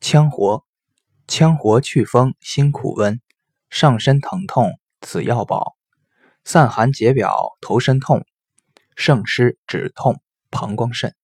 羌活，羌活祛风辛苦温，上身疼痛此药宝，散寒解表头身痛，胜湿止痛膀胱肾。